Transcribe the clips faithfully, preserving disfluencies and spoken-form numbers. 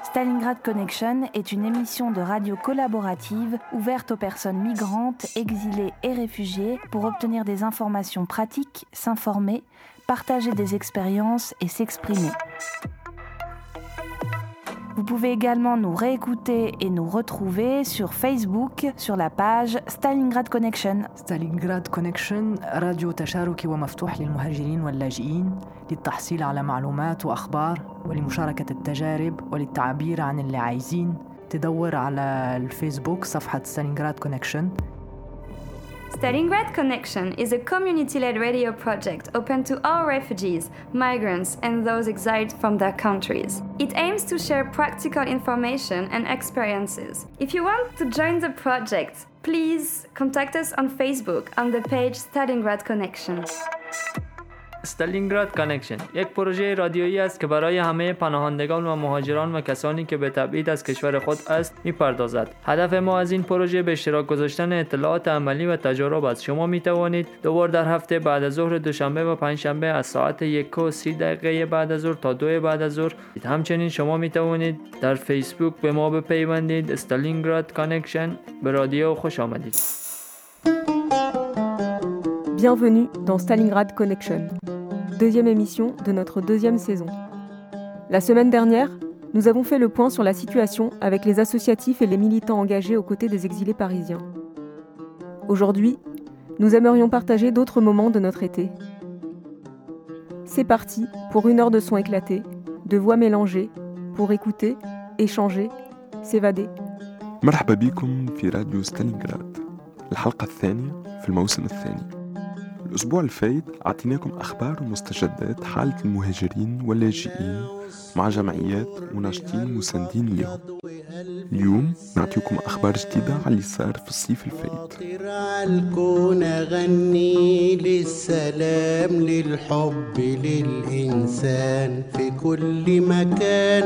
Stalingrad Connection est une émission de radio collaborative ouverte aux personnes migrantes, exilées et réfugiées pour obtenir des informations pratiques, s'informer, partager des expériences et s'exprimer. Vous pouvez également nous réécouter et nous retrouver sur Facebook sur la page Stalingrad Connection. ستالينغراد كونكشن راديو تشاركي ومفتوح للمهاجرين واللاجئين للتحصيل على معلومات وأخبار ولمشاركة التجارب وللتعبير عن اللي عايزين. تدور على الفيسبوك صفحة ستالينغراد كونكشن. Stalingrad Connection is a community-led radio project open to all refugees, migrants, and those exiled from their countries. It aims to share practical information and experiences. If you want to join the project, please contact us on Facebook on the page Stalingrad Connection. استالینگراد کانکشن یک پروژه رادیویی است که برای همه پناهندگان و مهاجران و کسانی که به تبعید از کشور خود است می‌پردازد. هدف ما از این پروژه به اشتراک گذاشتن اطلاعات عملی و تجارب است. شما می‌توانید دو بار در هفته بعد از ظهر دوشنبه و پنجشنبه از ساعت یک و سی دقیقه بعد از ظهر تا دو بعد از ظهر. همچنین شما می‌توانید در فیسبوک به ما بپیوندید. استالینگراد کانکشن. به رادیو خوش آمدید. Bienvenue dans Stalingrad Connection, deuxième émission de notre deuxième saison. La semaine dernière, nous avons fait le point sur la situation avec les associatifs et les militants engagés aux côtés des exilés parisiens. Aujourd'hui, nous aimerions partager d'autres moments de notre été. C'est parti pour une heure de son éclaté, de voix mélangées, pour écouter, échanger, s'évader. مرحبا بكم في راديو ستالينغراد، الحلقة الثانية في الموسم الثاني. الأسبوع الفايت أعطيناكم أخبار ومستجدات حالة المهاجرين واللاجئين مع جمعيات وناشطين مساندين لهم. اليوم نعطيكم أخبار جديدة على اللي صار في الصيف الفايت. الكون غني للسلام للحب للإنسان في كل مكان.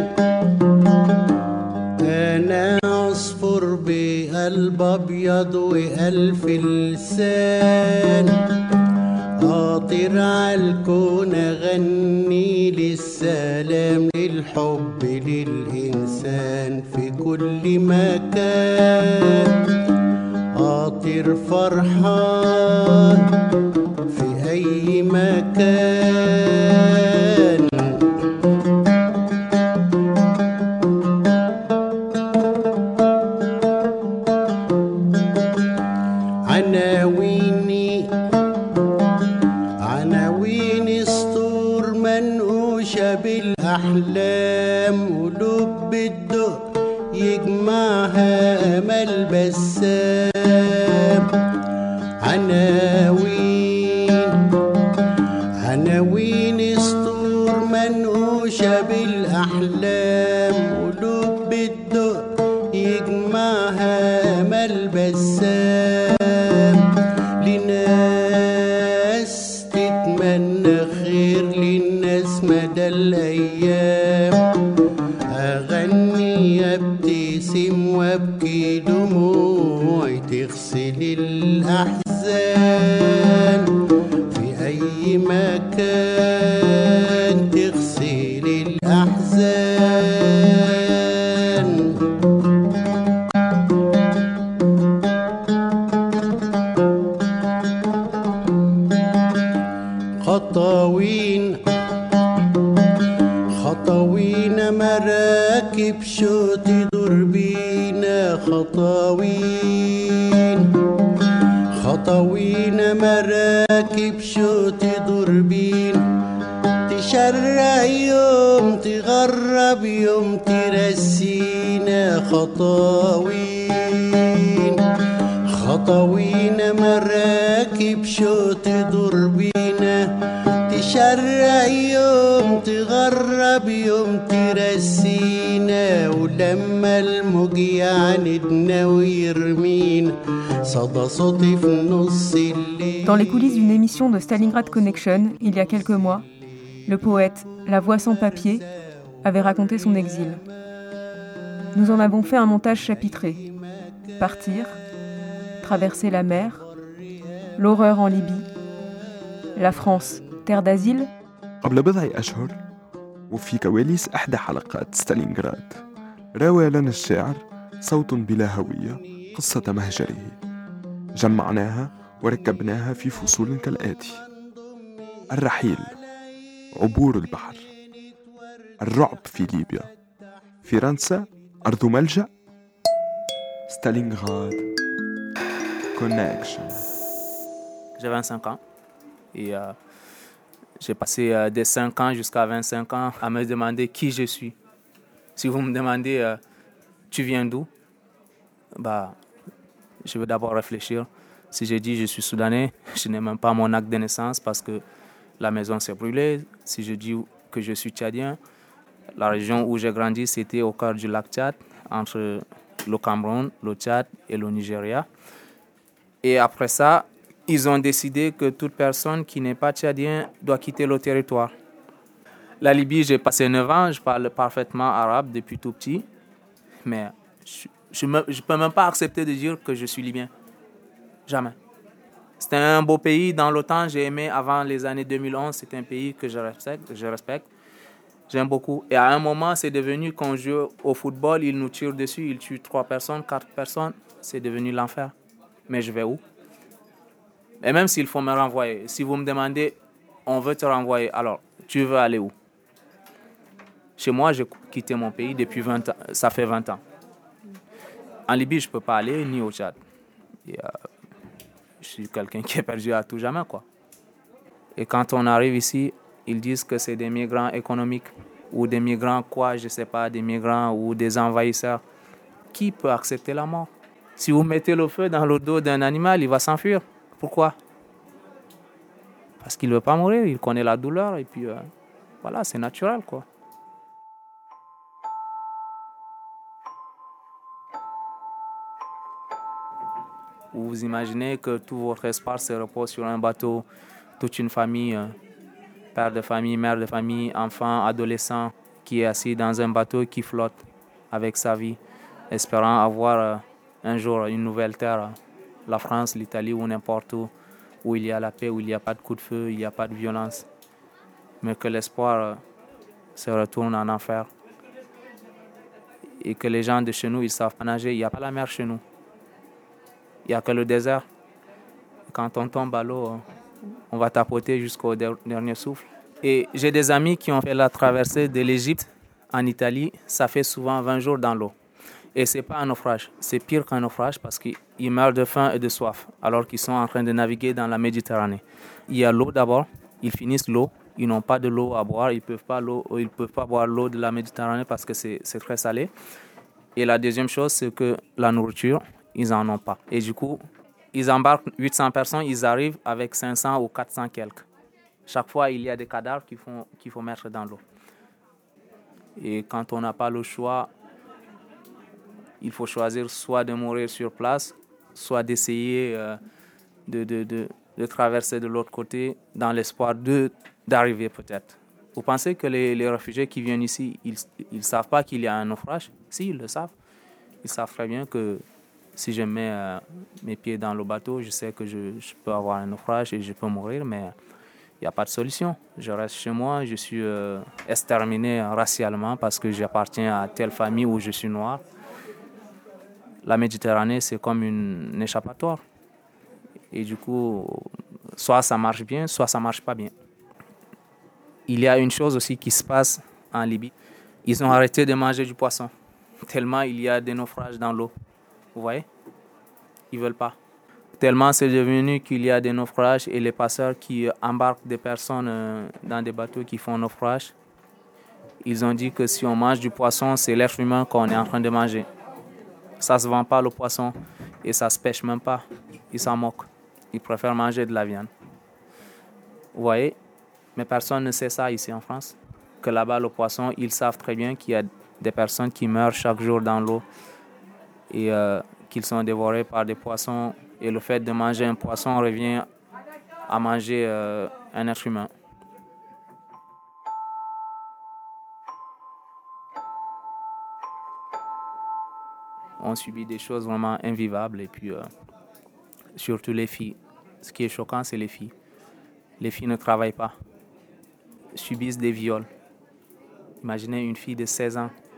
أنا عصفور بقلب أبيض وألف لسان، أطير عالكون غني للسلام للحب للإنسان في كل مكان. أطير فرحان في أي مكان. عناويني عناوين سطور منقوشة بالأحلام، ولب الدق يجمعها أمل بسام. عناوين عناوين سطور منقوشة بالأحلام، ولب الدق يجمعها أمل بسام. لناس تتمنى خير للناس مدى الأيام. أغني أبتسم وأبكي دموعي تغسل الأحزان في أي مكان. تغسل الأحزان. خطاوين خطاوين مراكب شو تدور بينا. خطاوين خطاوين مراكب شو تدور بينا. تشرق يوم تغرب يوم ترسينا. خطاوين خطاوين مراكب شو تدور بينا. تشرق يوم تغرب يوم ترسينا. ولما الموج يعاندنا ويرمينا صدى صوتي في نص الليل. Dans les coulisses d'une émission de Stalingrad Connection, il y a quelques mois, le poète, la voix sans papier, avait raconté son exil. Nous en avons fait un montage chapitré. Partir, traverser la mer, l'horreur en Libye, la France, terre d'asile. قبل بضع أشهر وفي كواليس إحدى حلقات ستالينغراد راوى لنا الشاعر صوت بلا هوية قصة مهجره، جمعناها وركبناها في فصول كالآتي: الرحيل، عبور البحر، الرعب في ليبيا، فرنسا أرض ملجأ، ستالينغراد، Connection. J'ai vingt-cinq ans et euh, j'ai passé euh, des cinq ans jusqu'à vingt-cinq ans à me demander qui je suis. Si vous me demandez euh, tu viens d'où, bah, je vais d'abord réfléchir. Si je dis je suis soudanais, je n'ai même pas mon acte de naissance parce que la maison s'est brûlée. Si je dis que je suis tchadien, la région où j'ai grandi, c'était au cœur du lac Tchad, entre le Cameroun, le Tchad et le Nigeria. Et après ça, ils ont décidé que toute personne qui n'est pas tchadien doit quitter le territoire. La Libye, j'ai passé neuf ans, je parle parfaitement arabe depuis tout petit, mais je ne peux même pas accepter de dire que je suis libyen. Jamais. C'était un beau pays. Dans l'OTAN, j'ai aimé avant les années deux mille onze. C'est un pays que je respecte. Je respecte. J'aime beaucoup. Et à un moment, c'est devenu, quand on joue au football, ils nous tirent dessus, ils tuent trois personnes, quatre personnes. C'est devenu l'enfer. Mais je vais où? Et même s'il faut me renvoyer, si vous me demandez, on veut te renvoyer, alors tu veux aller où? Chez moi, j'ai quitté mon pays depuis vingt ans. Ça fait vingt ans. En Libye, je ne peux pas aller, ni au Tchad. Et, euh, je suis quelqu'un qui est perdu à tout jamais, quoi. Et quand on arrive ici, ils disent que c'est des migrants économiques ou des migrants quoi, je ne sais pas, des migrants ou des envahisseurs. Qui peut accepter la mort? Si vous mettez le feu dans le dos d'un animal, il va s'enfuir. Pourquoi? Parce qu'il ne veut pas mourir, il connaît la douleur et puis euh, voilà, c'est naturel, quoi. Vous imaginez que tout votre espace se repose sur un bateau, toute une famille, euh, père de famille, mère de famille, enfant, adolescent, qui est assis dans un bateau qui flotte avec sa vie, espérant avoir euh, un jour une nouvelle terre, la France, l'Italie ou n'importe où, où il y a la paix, où il n'y a pas de coup de feu, il n'y a pas de violence, mais que l'espoir euh, se retourne en enfer et que les gens de chez nous, ils savent pas nager, il n'y a pas la mer chez nous. Il n'y a que le désert. Quand on tombe à l'eau, on va tapoter jusqu'au dernier souffle. Et j'ai des amis qui ont fait la traversée de l'Égypte en Italie. Ça fait souvent vingt jours dans l'eau. Et ce n'est pas un naufrage. C'est pire qu'un naufrage parce qu'ils meurent de faim et de soif alors qu'ils sont en train de naviguer dans la Méditerranée. Il y a l'eau d'abord. Ils finissent l'eau. Ils n'ont pas de l'eau à boire. Ils ne peuvent pas, l'eau, ils peuvent pas boire l'eau de la Méditerranée parce que c'est, c'est très salé. Et la deuxième chose, c'est que la nourriture, ils n'en ont pas. Et du coup, ils embarquent huit cents personnes, ils arrivent avec cinq cents ou quatre cents quelques. Chaque fois, il y a des cadavres qu'il faut, qu'il faut mettre dans l'eau. Et quand on n'a pas le choix, il faut choisir soit de mourir sur place, soit d'essayer euh, de, de, de, de traverser de l'autre côté dans l'espoir de, d'arriver peut-être. Vous pensez que les, les réfugiés qui viennent ici, ils ne savent pas qu'il y a un naufrage? Si, ils le savent. Ils savent très bien que si je mets euh, mes pieds dans le bateau, je sais que je, je peux avoir un naufrage et je peux mourir, mais il n'y a pas de solution. Je reste chez moi, je suis euh, exterminé racialement parce que j'appartiens à telle famille où je suis noir. La Méditerranée, c'est comme une, une échappatoire. Et du coup, soit ça marche bien, soit ça ne marche pas bien. Il y a une chose aussi qui se passe en Libye. Ils ont arrêté de manger du poisson, tellement il y a des naufrages dans l'eau. Vous voyez? Ils ne veulent pas. Tellement c'est devenu qu'il y a des naufrages et les passeurs qui embarquent des personnes dans des bateaux qui font naufrage, ils ont dit que si on mange du poisson, c'est l'être humain qu'on est en train de manger. Ça ne se vend pas le poisson et ça ne se pêche même pas. Ils s'en moquent. Ils préfèrent manger de la viande. Vous voyez? Mais personne ne sait ça ici en France. Que là-bas, le poisson, ils savent très bien qu'il y a des personnes qui meurent chaque jour dans l'eau et euh, qu'ils sont dévorés par des poissons. Et le fait de manger un poisson revient à manger euh, un être humain. On subit des choses vraiment invivables et puis euh, surtout les filles. Ce qui est choquant, c'est les filles. Les filles ne travaillent pas, subissent des viols. Imaginez une fille de seize ans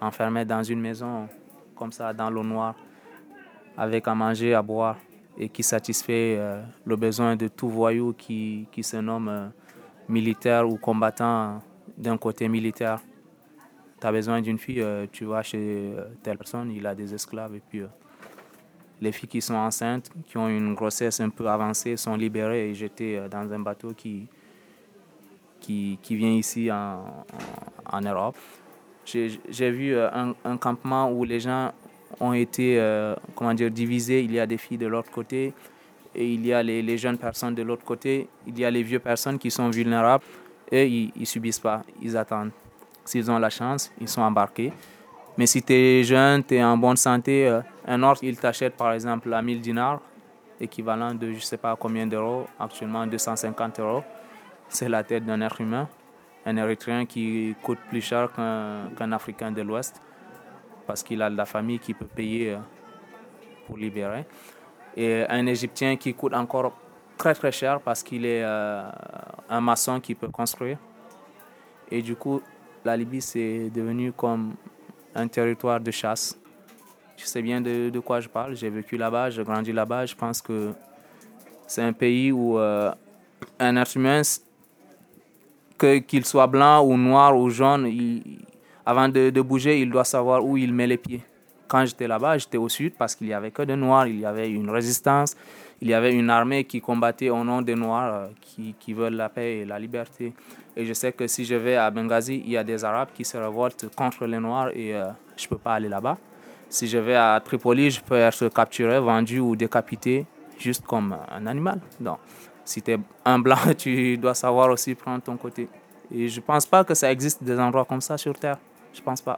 enfermés dans une maison, comme ça, dans l'eau noire, avec à manger, à boire, et qui satisfait euh, le besoin de tout voyou qui, qui se nomme euh, militaire ou combattant d'un côté militaire. Tu as besoin d'une fille, euh, tu vas chez euh, telle personne, il a des esclaves, et puis euh, les filles qui sont enceintes, qui ont une grossesse un peu avancée, sont libérées et jetées euh, dans un bateau qui, qui, qui vient ici en, en, en Europe. J'ai, j'ai vu euh, un, un campement où les gens ont été euh, comment dire, divisés. Il y a des filles de l'autre côté et il y a les, les jeunes personnes de l'autre côté. Il y a les vieux personnes qui sont vulnérables et ils ne subissent pas, ils attendent. S'ils ont la chance, ils sont embarqués. Mais si tu es jeune, tu es en bonne santé, euh, un autre, il t'achète par exemple à mille dinars, équivalent de je ne sais pas combien d'euros, actuellement deux cent cinquante euros. C'est la tête d'un être humain, un Érythréen qui coûte plus cher qu'un, qu'un Africain de l'Ouest, parce qu'il a de la famille qui peut payer pour libérer. Et un Égyptien qui coûte encore très très cher parce qu'il est euh, un maçon qui peut construire. Et du coup, la Libye, c'est devenu comme un territoire de chasse. Je sais bien de, de quoi je parle. J'ai vécu là-bas, j'ai grandi là-bas. Je pense que c'est un pays où euh, un être humain, que, qu'il soit blanc ou noir ou jaune, il, avant de, de bouger, il doit savoir où il met les pieds. Quand j'étais là-bas, j'étais au sud parce qu'il n'y avait que des noirs, il y avait une résistance, il y avait une armée qui combattait au nom des noirs euh, qui, qui veulent la paix et la liberté. Et je sais que si je vais à Benghazi, il y a des Arabes qui se révoltent contre les noirs et euh, je ne peux pas aller là-bas. Si je vais à Tripoli, je peux être capturé, vendu ou décapité juste comme un animal. Donc, si tu es un blanc, tu dois savoir aussi prendre ton côté. Et je ne pense pas que ça existe des endroits comme ça sur Terre. Je ne pense pas.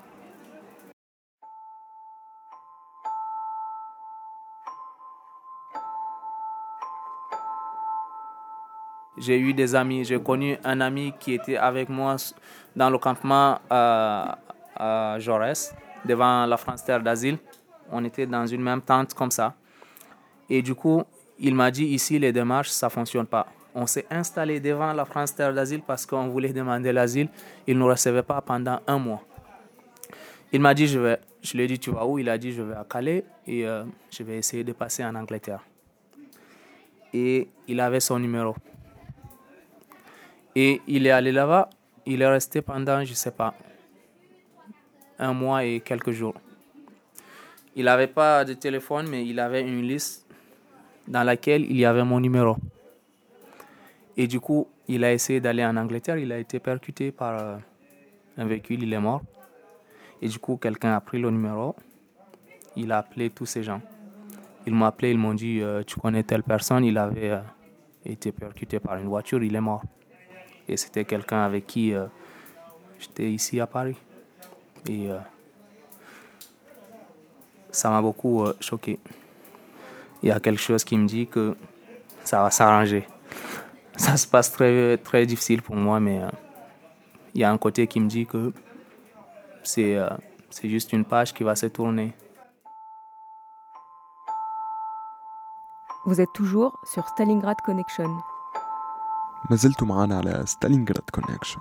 J'ai eu des amis. J'ai connu un ami qui était avec moi dans le campement à, à Jaurès, devant la France Terre d'Asile. On était dans une même tente comme ça. Et du coup, il m'a dit, ici, les démarches, ça ne fonctionne pas. On s'est installé devant la France Terre d'Asile parce qu'on voulait demander l'asile. Il ne nous recevait pas pendant un mois. Il m'a dit, je vais. Je lui ai dit, tu vas où? Il a dit, je vais à Calais et euh, je vais essayer de passer en Angleterre. Et il avait son numéro. Et il est allé là-bas. Il est resté pendant, je ne sais pas, un mois et quelques jours. Il n'avait pas de téléphone, mais il avait une liste dans laquelle il y avait mon numéro. Et du coup, il a essayé d'aller en Angleterre. Il a été percuté par euh, un véhicule. Il est mort. Et du coup, quelqu'un a pris le numéro. Il a appelé tous ces gens. Ils m'ont appelé. Ils m'ont dit, euh, tu connais telle personne. Il avait euh, été percuté par une voiture. Il est mort. Et c'était quelqu'un avec qui euh, j'étais ici à Paris. Et euh, ça m'a beaucoup euh, choqué. Il y a quelque chose qui me dit que ça va s'arranger. Ça se passe très, très difficile pour moi, mais euh, il y a un côté qui me dit que c'est, euh, c'est juste une page qui va se tourner. Vous êtes toujours sur Stalingrad Connection. ما زلتوا معنا على ستالينغراد كونكشن.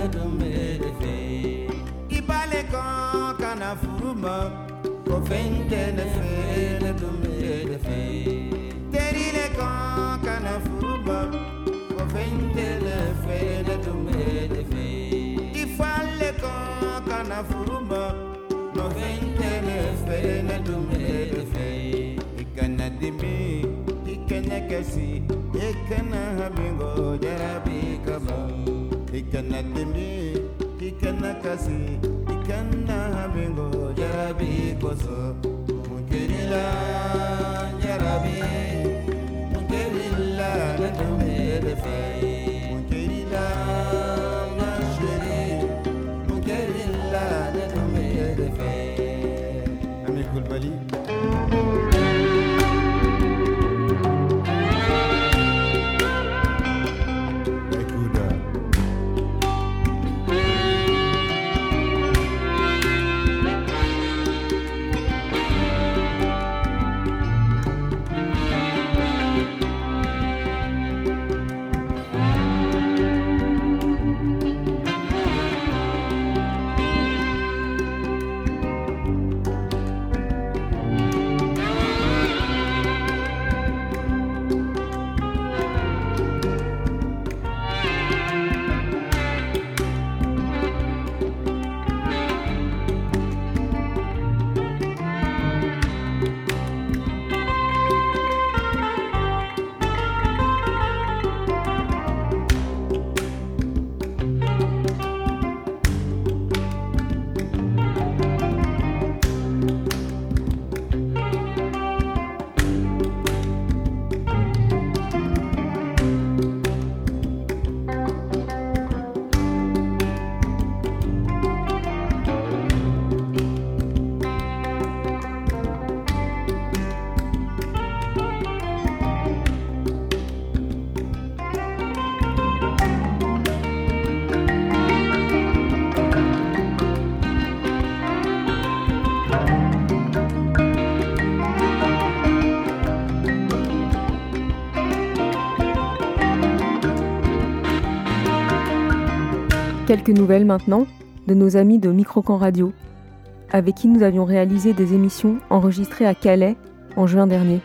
Quelques nouvelles maintenant de nos amis de Microcamp Radio, avec qui nous avions réalisé des émissions enregistrées à Calais en juin dernier.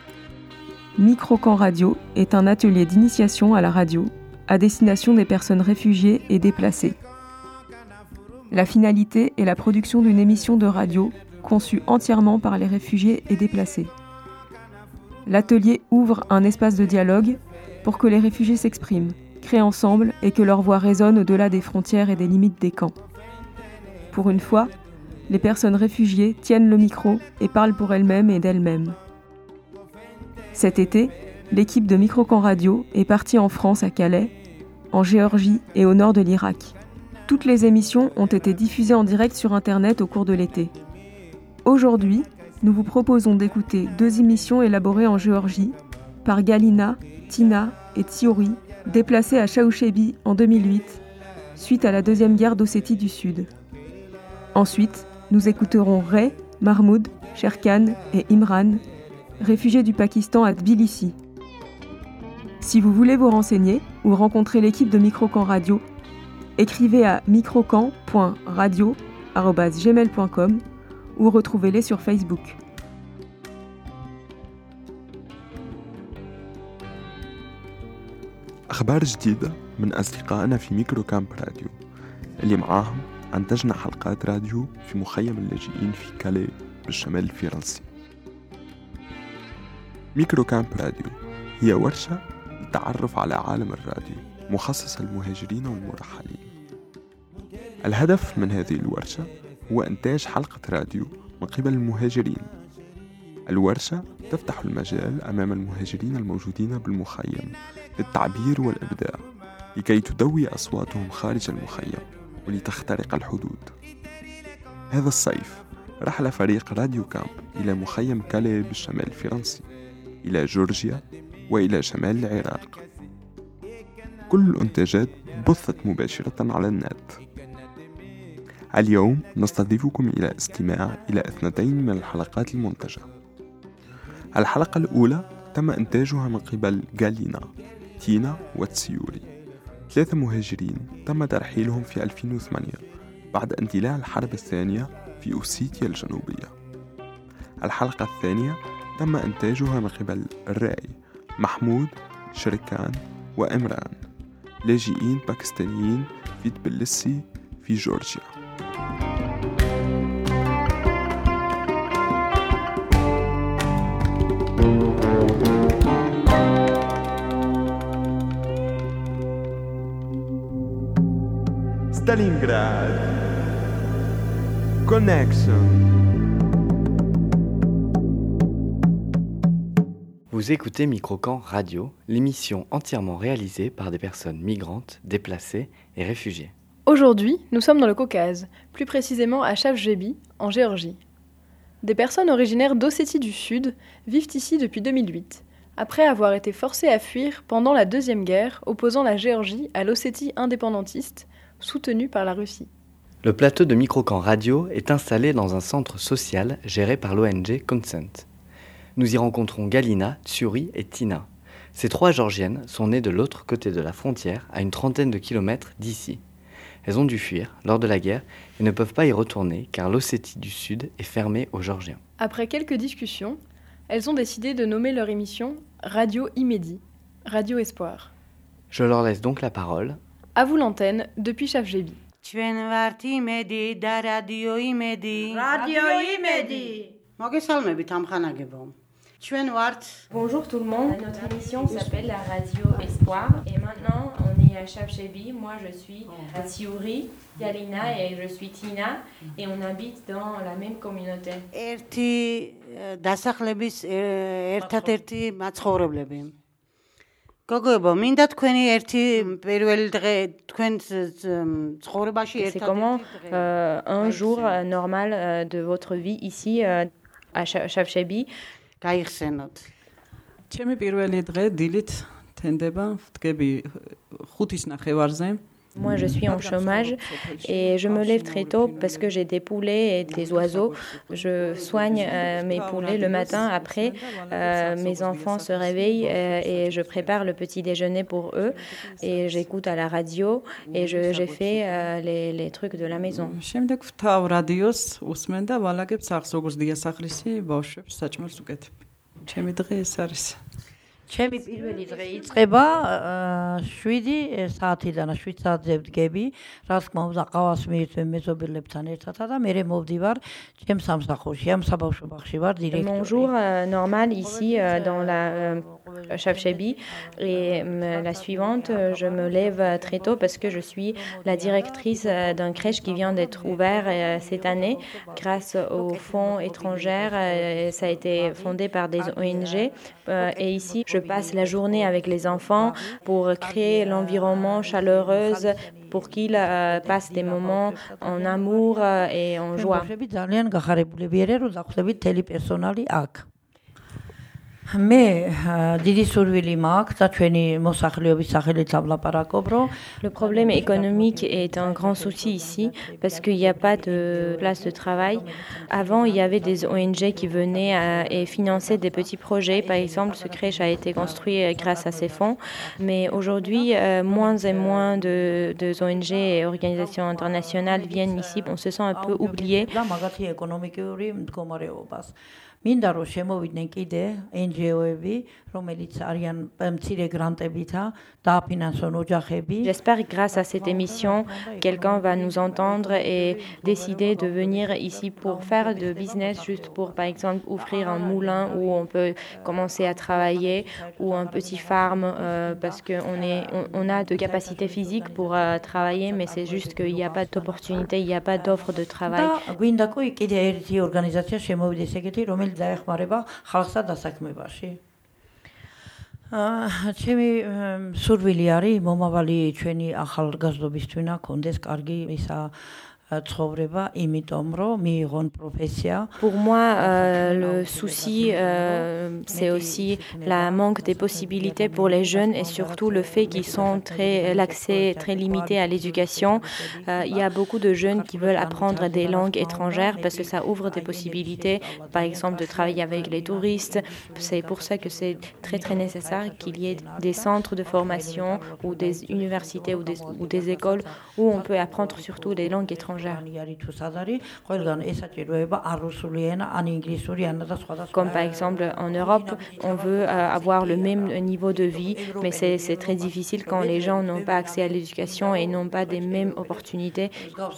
Microcamp Radio est un atelier d'initiation à la radio à destination des personnes réfugiées et déplacées. La finalité est la production d'une émission de radio conçue entièrement par les réfugiés et déplacés. L'atelier ouvre un espace de dialogue pour que les réfugiés s'expriment, créent ensemble et que leur voix résonne au-delà des frontières et des limites des camps. Pour une fois, les personnes réfugiées tiennent le micro et parlent pour elles-mêmes et d'elles-mêmes. Cet été, l'équipe de Microcamp Radio est partie en France à Calais, en Géorgie et au nord de l'Irak. Toutes les émissions ont été diffusées en direct sur Internet au cours de l'été. Aujourd'hui, nous vous proposons d'écouter deux émissions élaborées en Géorgie par Galina, Tina et Tsiori, déplacés à Chaouchebi en deux mille huit, suite à la deuxième guerre d'Ossétie du Sud. Ensuite, nous écouterons Ray, Mahmoud, Sherkan et Imran, réfugiés du Pakistan à Tbilissi. Si vous voulez vous renseigner ou rencontrer l'équipe de Microcamp Radio, écrivez à microcamp point radio arobase gmail point com ou retrouvez-les sur Facebook. أخبار جديدة من أصدقائنا في ميكرو كامب راديو اللي معاهم أنتجنا حلقات راديو في مخيم اللاجئين في كالي بالشمال الفرنسي. ميكرو كامب راديو هي ورشة للتعرف على عالم الراديو مخصصة للمهاجرين والمرحلين. الهدف من هذه الورشة هو إنتاج حلقة راديو من قبل المهاجرين. الورشة تفتح المجال أمام المهاجرين الموجودين بالمخيم للتعبير والإبداع لكي تدوي أصواتهم خارج المخيم ولتخترق الحدود. هذا الصيف رحل فريق راديو كامب إلى مخيم كالي بالشمال الفرنسي، إلى جورجيا وإلى شمال العراق. كل الإنتاجات بثت مباشرة على النت. اليوم نستضيفكم إلى استماع إلى اثنتين من الحلقات المنتجة. الحلقة الأولى تم إنتاجها من قبل غالينا، تينا وتسيوري، ثلاثة مهاجرين تم ترحيلهم في ألفين وثمانية بعد اندلاع الحرب الثانية في أوسيتيا الجنوبية. الحلقة الثانية تم إنتاجها من قبل الرائي محمود، شركان وإمران، لاجئين باكستانيين في تبلسي في جورجيا. Stalingrad Connection. Vous écoutez Microcamp Radio, l'émission entièrement réalisée par des personnes migrantes, déplacées et réfugiées. Aujourd'hui, nous sommes dans le Caucase, plus précisément à Chavchebi, en Géorgie. Des personnes originaires d'Ossétie du Sud vivent ici depuis deux mille huit, après avoir été forcées à fuir pendant la Deuxième Guerre opposant la Géorgie à l'Ossétie indépendantiste, soutenue par la Russie. Le plateau de Microcamp Radio est installé dans un centre social géré par l'O N G Consent. Nous y rencontrons Galina, Tsuri et Tina. Ces trois Géorgiennes sont nées de l'autre côté de la frontière, à une trentaine de kilomètres d'ici. Elles ont dû fuir lors de la guerre et ne peuvent pas y retourner car l'Ossétie du Sud est fermée aux Géorgiens. Après quelques discussions, elles ont décidé de nommer leur émission Radio Imedi, Radio Espoir. Je leur laisse donc la parole. À vous l'antenne depuis Chavchebi. Radio Imedi. Bonjour tout le monde, notre émission s'appelle la Radio Espoir et maintenant on est à Chavchebi. Moi je suis Tsuri, Galina et je suis Tina et on habite dans la même communauté. C'est comment euh, un jour euh, normal euh, de votre vie ici euh, à Chavchebi? ჩემი პირველი დღე დილით თენდება, ვდგები ხუთის ნახევარზე. Moi, je suis en chômage et je me lève très tôt parce que j'ai des poulets et des oiseaux. Je soigne euh, mes poulets le matin. Après, euh, mes enfants se réveillent euh, et je prépare le petit déjeuner pour eux. Et j'écoute à la radio et je, j'ai fait euh, les, les trucs de la maison. შემდეგ ვთავ რადიოს უსმენ და ვალაგებ სახლს, როგორც დიასახლისი ბავშვებს საჭმელს უკეთებ. ჩემი დღე ეს არის. ჩემი პირველი დღე იწყება შვიდი საათიდან, შვიდ საათზე ვდგები, რაც თქმა უნდა ყავას მივიწვევ მეზობელებთან ერთად და მე მოვდივარ ჩემს სამსახურში, ამ საბავშვო ბაღში ვარ დირექტორი. Mon jour euh, normal ici euh, dans la euh, Chavchebi et euh, la suivante, euh, je me lève très tôt parce que je suis la directrice euh, d'un crèche qui vient d'être ouvert euh, cette année grâce aux fonds étrangers. Euh, ça a été fondé par des O N G euh, et ici je Je passe la journée avec les enfants pour créer l'environnement chaleureux pour qu'ils euh, passent des moments en amour euh, et en joie. Le problème économique est un grand souci ici parce qu'il n'y a pas de place de travail. Avant, il y avait des O N G qui venaient à, et finançaient des petits projets. Par exemple, ce crèche a été construit grâce à ces fonds. Mais aujourd'hui, euh, moins et moins de, de O N G et organisations internationales viennent ici. On se sent un peu oublié. მინდა რომ შემოვიდნენ კიდე N G O-ები, რომელიც არიან მცირე გრანტებითა დააფინანსონ ოჯახები. J'espère que grâce à cette émission, quelqu'un va nous entendre et décider de venir ici pour faire de business, juste pour par exemple ouvrir un moulin où on peut commencer à travailler ou un petit farm euh, parce qu'on est, on, on a de capacités physiques pour euh, travailler, mais c'est juste qu'il n'y a pas d'opportunité, il n'y a pas d'offre de travail. გვინდა კი კიდე ერთი ორგანიზაცია შემოვიდეს ეგეთი, რომელიც დაეხმარება ხალხსა დასაქმებაში. ჩემი სურვილი არის მომავალი ჩვენი ახალგაზრდობისთვის ქონდეს კარგი ისა ცხოვრება, იმიტომ რომ მიიღონ პროფესია. Pour moi, euh, le souci, euh, c'est aussi la manque des possibilités pour les jeunes et surtout le fait qu'ils sont très, l'accès très limité à l'éducation. Euh, il y a beaucoup de jeunes qui veulent apprendre des langues étrangères parce que ça ouvre des possibilités, par exemple de travailler avec les touristes. C'est pour ça que c'est très très nécessaire qu'il y ait des centres de formation ou des universités ou des, ou des écoles où on peut apprendre surtout les langues étrangères. Comme par exemple en Europe, on veut euh, avoir le même niveau de vie, mais c'est, c'est très difficile quand les gens n'ont pas accès à l'éducation et n'ont pas des mêmes opportunités.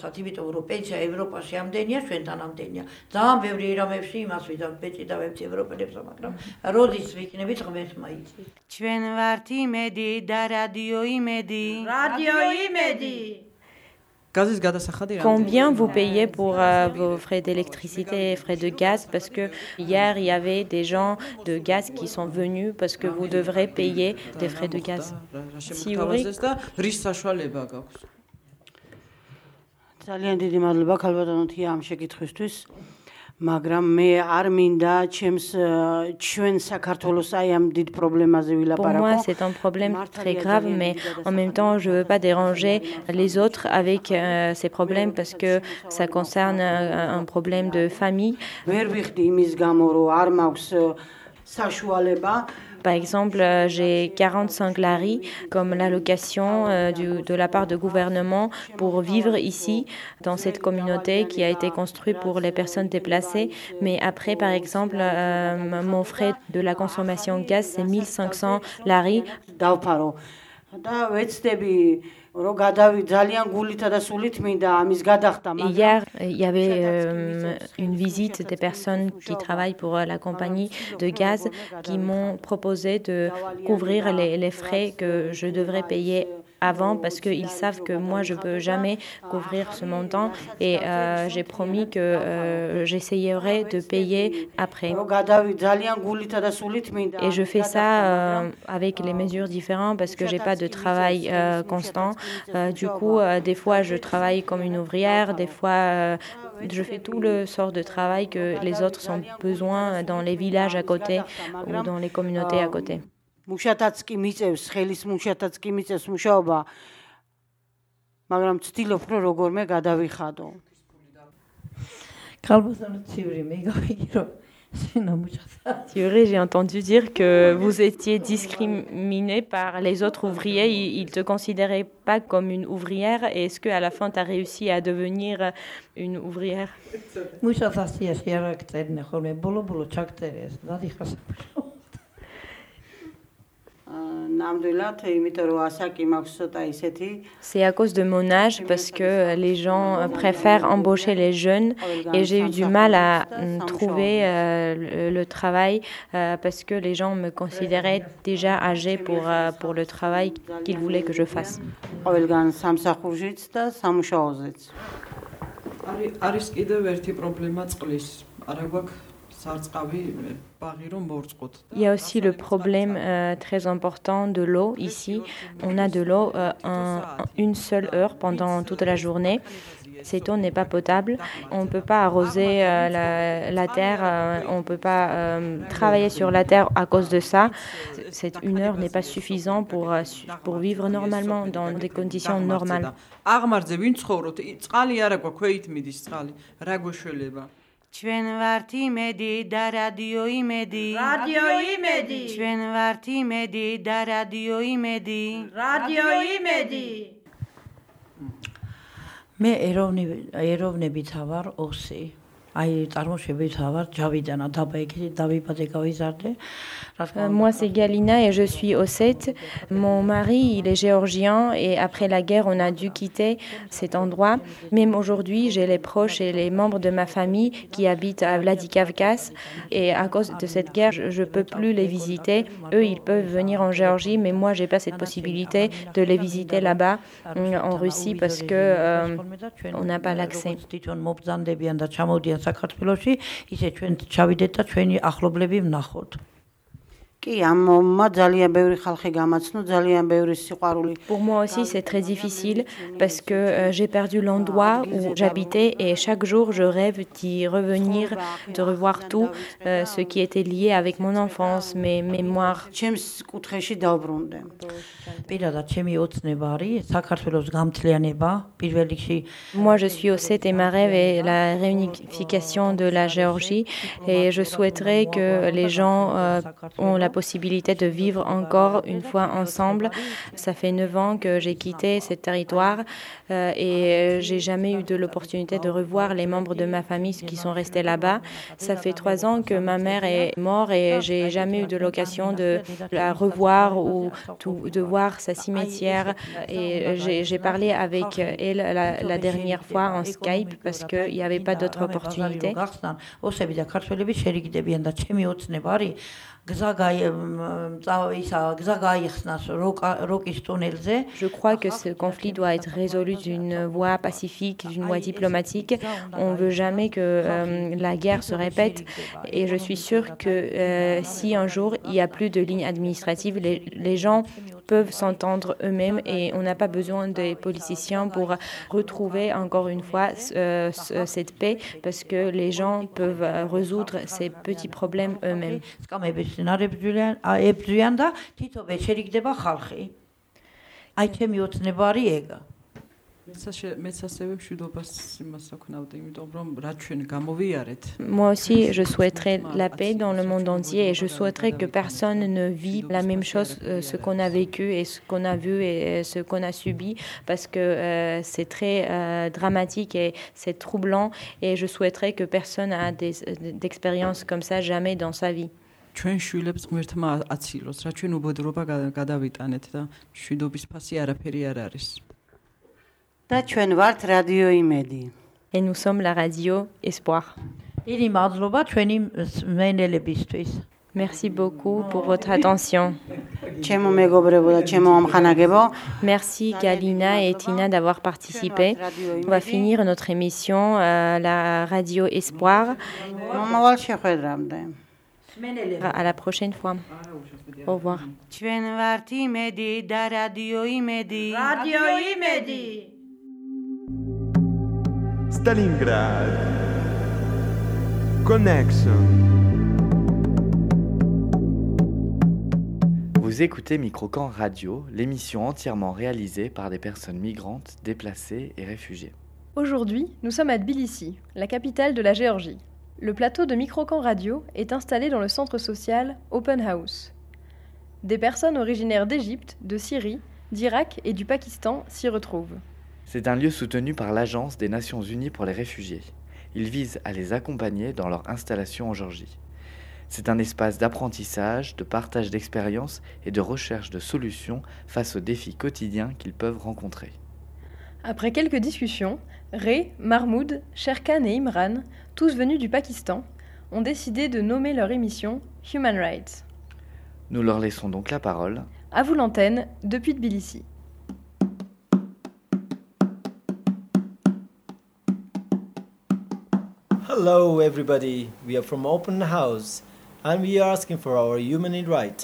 Combien vous payez pour euh, vos frais d'électricité et frais de gaz? Parce que hier, il y avait des gens de gaz qui sont venus parce que vous devrez payer des frais de gaz. Siuri. ძალიან დიდი მადლობა ქალბატონო თია ამ შეკითხვისთვის. მაგრამ მე არ მინდა ჩემს ჩვენ საქართველოს აი ამ დიდ პრობლემაზე ვილაპარაკო. Pour moi, c'est un problème très grave, mais en même temps, je ne veux pas déranger les autres avec euh, ces problèmes parce que ça concerne un, un problème de famille. ვერ ვიხდი იმის გამო, რომ არ მაქვს საშუალება. Par exemple, euh, j'ai quarante-cinq lari comme l'allocation euh, du, de la part du gouvernement pour vivre ici, dans cette communauté qui a été construite pour les personnes déplacées. Mais après, par exemple, euh, mon frais de la consommation de gaz, c'est mille cinq cents lari. Hier, il y avait euh, une visite des personnes qui travaillent pour la compagnie de gaz qui m'ont proposé de couvrir les, les frais que je devrais payer avant parce qu'ils savent que moi je ne peux jamais couvrir ce montant et euh, j'ai promis que euh, j'essayerai de payer après. Et je fais ça euh, avec les mesures différentes parce que je n'ai pas de travail euh, constant. Euh, du coup, euh, des fois je travaille comme une ouvrière, des fois euh, je fais tout le sort de travail que les autres ont besoin dans les villages à côté ou dans les communautés à côté. მუშათაც კი მიწევს, ხელის მუშათაც კი მიწევს მუშაობა, მაგრამ ვცდილობ, რომ როგორმე გადავიხადო. Thierry, j'ai entendu dire que vous étiez discriminé par les autres ouvriers. Ils ne te considéraient pas comme une ouvrière. Et est-ce qu'à la fin, tu as réussi à devenir une ouvrière? C'est à cause de mon âge parce que les gens préfèrent embaucher les jeunes et j'ai eu du mal à trouver euh, le, le travail euh, parce que les gens me considéraient déjà âgée pour, euh, pour le travail qu'ils voulaient que je fasse. Il y a aussi le problème euh, très important de l'eau ici. On a de l'eau euh, en une seule heure pendant toute la journée. Cette eau n'est pas potable. On ne peut pas arroser euh, la, la terre, euh, on ne peut pas euh, travailler sur la terre à cause de ça. Cette une heure n'est pas suffisant pour, pour vivre normalement, dans des conditions normales. ჩვენ ვართ იმედი და რადიო იმედი რადიო იმედი ჩვენ ვართ იმედი და რადიო იმედი რადიო იმედი მე ეროვნები ეროვნებით ვარ ოსი აი წარმოშობით ვარ ჯავიდანა დაბაიგეთი დავიბადე გავიზარდე. Moi c'est Galina et je suis ossète. Mon mari il est géorgien et après la guerre on a dû quitter cet endroit. Même aujourd'hui j'ai les proches et les membres de ma famille qui habitent à Vladikavkaz et à cause de cette guerre je ne peux plus les visiter. Eux ils peuvent venir en Géorgie mais moi j'ai pas cette possibilité de les visiter là-bas en Russie parce que euh, on n'a pas l'accès. საქართველოში ისე ჩვენ ჩავიდეთ და ჩვენი ახლობლები ვნახოთ. Pour moi aussi, c'est très difficile parce que euh, j'ai perdu l'endroit où j'habitais et chaque jour, je rêve d'y revenir, de revoir tout euh, ce qui était lié avec mon enfance, mes mémoires. Moi, je suis Ossète et ma rêve est la réunification de la Géorgie et je souhaiterais que les gens euh, ont la possibilité de vivre encore une fois ensemble. Ça fait neuf ans que j'ai quitté ce territoire euh, et j'ai jamais eu de l'opportunité de revoir les membres de ma famille qui sont restés là-bas. Ça fait trois ans que ma mère est morte et j'ai jamais eu de l'occasion de la revoir ou tout, de voir sa cimetière. Et j'ai, j'ai parlé avec elle la, la dernière fois en Skype parce qu'il n'y avait pas d'autre opportunité. Je crois que ce conflit doit être résolu d'une voie pacifique, d'une voie diplomatique. On ne veut jamais que euh, la guerre se répète et je suis sûre que euh, si un jour il n'y a plus de ligne administrative, les, les gens peuvent s'entendre eux-mêmes et on n'a pas besoin des politiciens pour retrouver encore une fois euh, cette paix parce que les gens peuvent résoudre ces petits problèmes eux-mêmes. Moi aussi, je souhaiterais la paix dans le monde entier et je souhaiterais que personne ne vive la même chose, euh, ce qu'on a vécu et ce qu'on a vu et ce qu'on a subi, parce que euh, c'est très euh, dramatique et c'est troublant et je souhaiterais que personne ait des, d'expériences comme ça jamais dans sa vie. ჩვენ შვილებს ღმერთმა აცილოს, რა ჩვენ უბედურობა გადავიტანეთ და მშვიდობის ფასი არაფერი არ არის. და ჩვენ ვართ რადიო იმედი. Et nous sommes la radio Espoir. დიდი მადლობა ჩვენი მსმენელებისთვის. Merci beaucoup pour votre attention. ჩემო მეგობრებო და ჩემო ამხანაგებო. Merci Galina et Tina d'avoir participé. On va finir notre émission euh, la radio Espoir. მომავალ შეხვედრამდე. À la prochaine fois. Au revoir. ჩვენ ვართ იმედი და რადიო იმედი. რადიო იმედი. Stalingrad Connection. Vous écoutez Microcamp Radio, l'émission entièrement réalisée par des personnes migrantes, déplacées et réfugiées. Aujourd'hui, nous sommes à Tbilissi, la capitale de la Géorgie. Le plateau de Microcamp Radio est installé dans le centre social Open House. Des personnes originaires d'Égypte, de Syrie, d'Irak et du Pakistan s'y retrouvent. C'est un lieu soutenu par l'Agence des Nations Unies pour les réfugiés. Il vise à les accompagner dans leur installation en Géorgie. C'est un espace d'apprentissage, de partage d'expériences et de recherche de solutions face aux défis quotidiens qu'ils peuvent rencontrer. Après quelques discussions, Ray, Mahmoud, Sherkan et Imran, tous venus du Pakistan, ont décidé de nommer leur émission Human Rights. Nous leur laissons donc la parole. À vous l'antenne, depuis Tbilissi. Hello everybody, we are from Open House and we are asking for our human rights.